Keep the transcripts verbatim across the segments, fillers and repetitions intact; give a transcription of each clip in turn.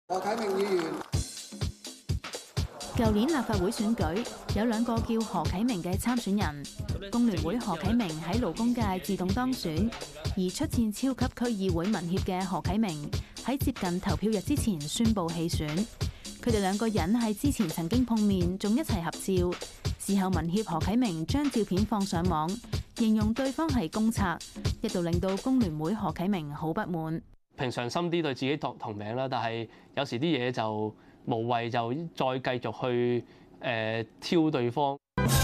何啟明議員。 舊年立法會選舉有兩個叫何啟明嘅參選人，工聯會何啟明喺勞工界自動當選，而出戰超級區議會民協嘅何啟明喺接近投票日之前宣布棄選。佢哋兩個人喺之前曾經碰面，仲一齊合照。事後民協何啟明將照片放上網，形容對方係公賊，一度令到工聯會何啟明好不滿。 平常心啲對自己同同名啦，但係有時啲嘢就無謂就再繼續去誒、呃、挑對方。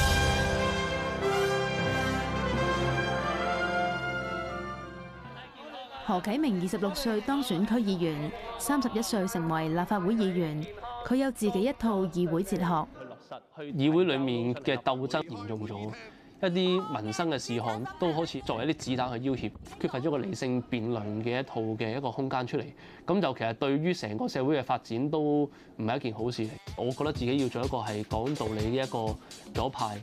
何啟明二十六歲當選區議員，三十一歲成為立法會議員。佢有自己一套議會哲學。 去落實去議會裡面嘅鬥爭嚴重咗，一啲民生嘅事項都好似作為一啲子彈去要挾，缺乏咗個理性辯論嘅一套嘅一個空間出嚟。咁就其實對於成個社會嘅發展都唔係一件好事嚟。我覺得自己要做一個係講道理嘅一個左派。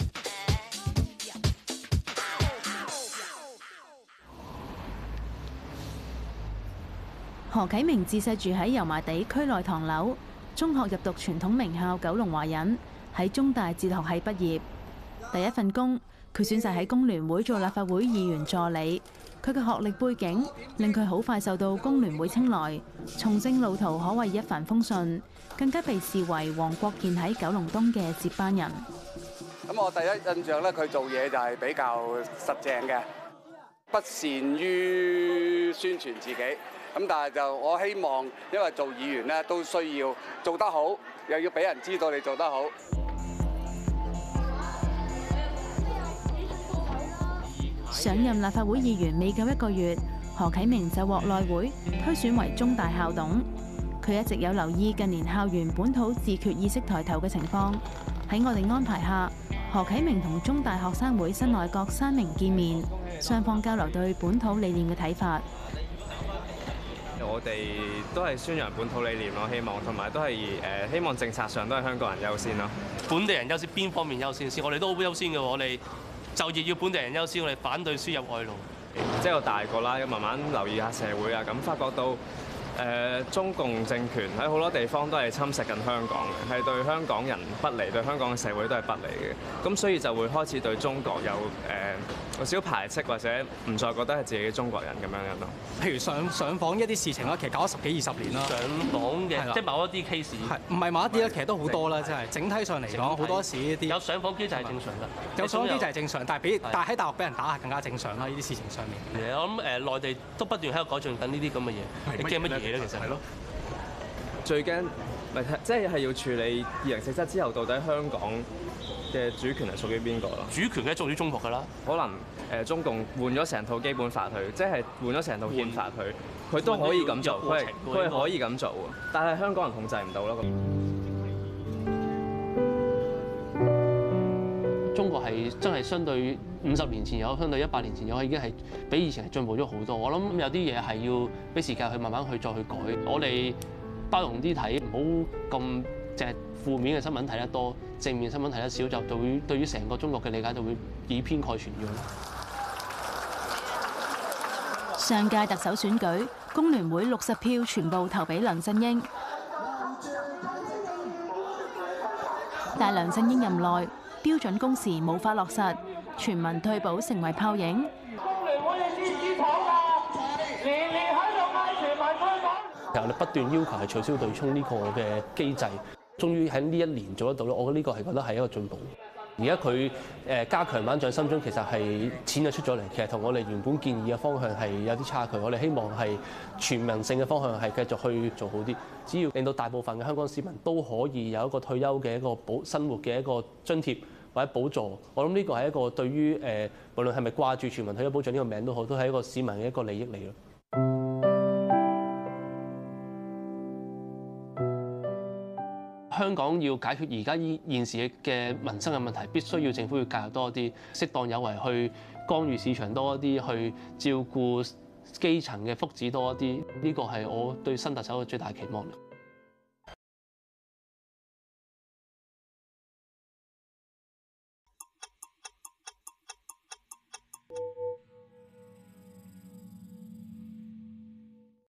何啟明自細住喺油麻地區內唐樓，中學入讀傳統名校九龍華仁，喺中大哲學系畢業。第一份工，佢選擇喺工聯會做立法會議員助理。佢嘅學歷背景令佢好快受到工聯會青睞，從政路途可謂一帆風順，更加被視為黃國健喺九龍東嘅接班人。 咁我第一印象咧，佢做嘢就係比較實淨嘅，不善於宣傳自己。咁但係就我希望，因為做議員咧都需要做得好，又要俾人知道你做得好。 上任立法會議員未夠一個月，何啟明就獲內會推選為中大校董。佢一直有留意近年校園本土自決意識抬頭嘅情況。喺我哋安排下，何啟明同中大學生會新內閣三名見面，雙方交流對本土理念嘅睇法。 我哋都係宣揚本土理念咯，希望同埋都係誒希望政策上都係香港人優先咯。 本地人優先邊方面優先先？我哋都好優先嘅，我哋就業要本地人優先，我哋反對輸入外勞。 即係我大個啦，要慢慢留意下社會啊，咁發覺到誒、呃、中共政權喺好多地方都係侵蝕緊香港嘅，係對香港人不利，對香港嘅社會都係不利嘅。咁所以就會開始對中國有誒、呃有少少排斥，或者唔再覺得係自己中國人咁樣樣咯。 譬如上上訪一啲事情啦，其實搞咗十幾二十年啦。 上訪嘅，即係某一啲 case。 係唔係某一啲咧？其實都好多啦，真係整體上嚟講，好多時呢啲有上訪機制係正常㗎。 有上訪機制係正常，但係俾但係喺大陸俾人打係更加正常啦。呢啲事情上面。 我諗誒內地都不斷喺度改進緊呢啲咁嘅嘢。你驚乜嘢咧？其實係咯。 最驚咪即係係要處理二零四七之後，到底香港嘅主權係屬於邊個咯？ 主權嘅屬於中國㗎啦。 可能誒中共換咗成套基本法去，即係換咗成套憲法去，佢都可以咁做，佢係佢係可以咁做喎。但係香港人控制唔到咯。 中國係真係相對五十年前有，相對一百年前有，已經係比以前係進步咗好多。我諗有啲嘢係要俾時間去慢慢去再去改。我哋包容啲睇，唔好咁淨係負面嘅新聞睇得多，正面新聞睇得少，就會對於成個中國嘅理解就會以偏概全咗。 上屆特首選舉，工聯會六十票全部投俾梁振英，但梁振英任內標準工時冇法落實，全民退保成為泡影。 工聯會嘅支持黨啊，年年喺度嗌全民退保。 然後你不斷要求係取消對沖呢個嘅機制，終於喺呢一年做得到咯。我覺得呢個係覺得係一個進步。而家佢誒加強版掌心中，其實係錢就出咗嚟，其實同我哋原本建議嘅方向係有啲差距。我哋希望係全民性嘅方向係繼續去做好啲。只要令到大部分嘅香港市民都可以有一個退休嘅一個保生活嘅一個津貼或者補助，我諗呢個係一個對於誒無論係咪掛住全民退休保障呢個名都好，都係一個市民嘅一個利益嚟咯。香港要解決而家依現時嘅民生嘅問題，必須要政府要介入多啲，適當有為去干預市場多啲，去照顧基層嘅福祉多啲。呢個係我對新特首嘅最大期望。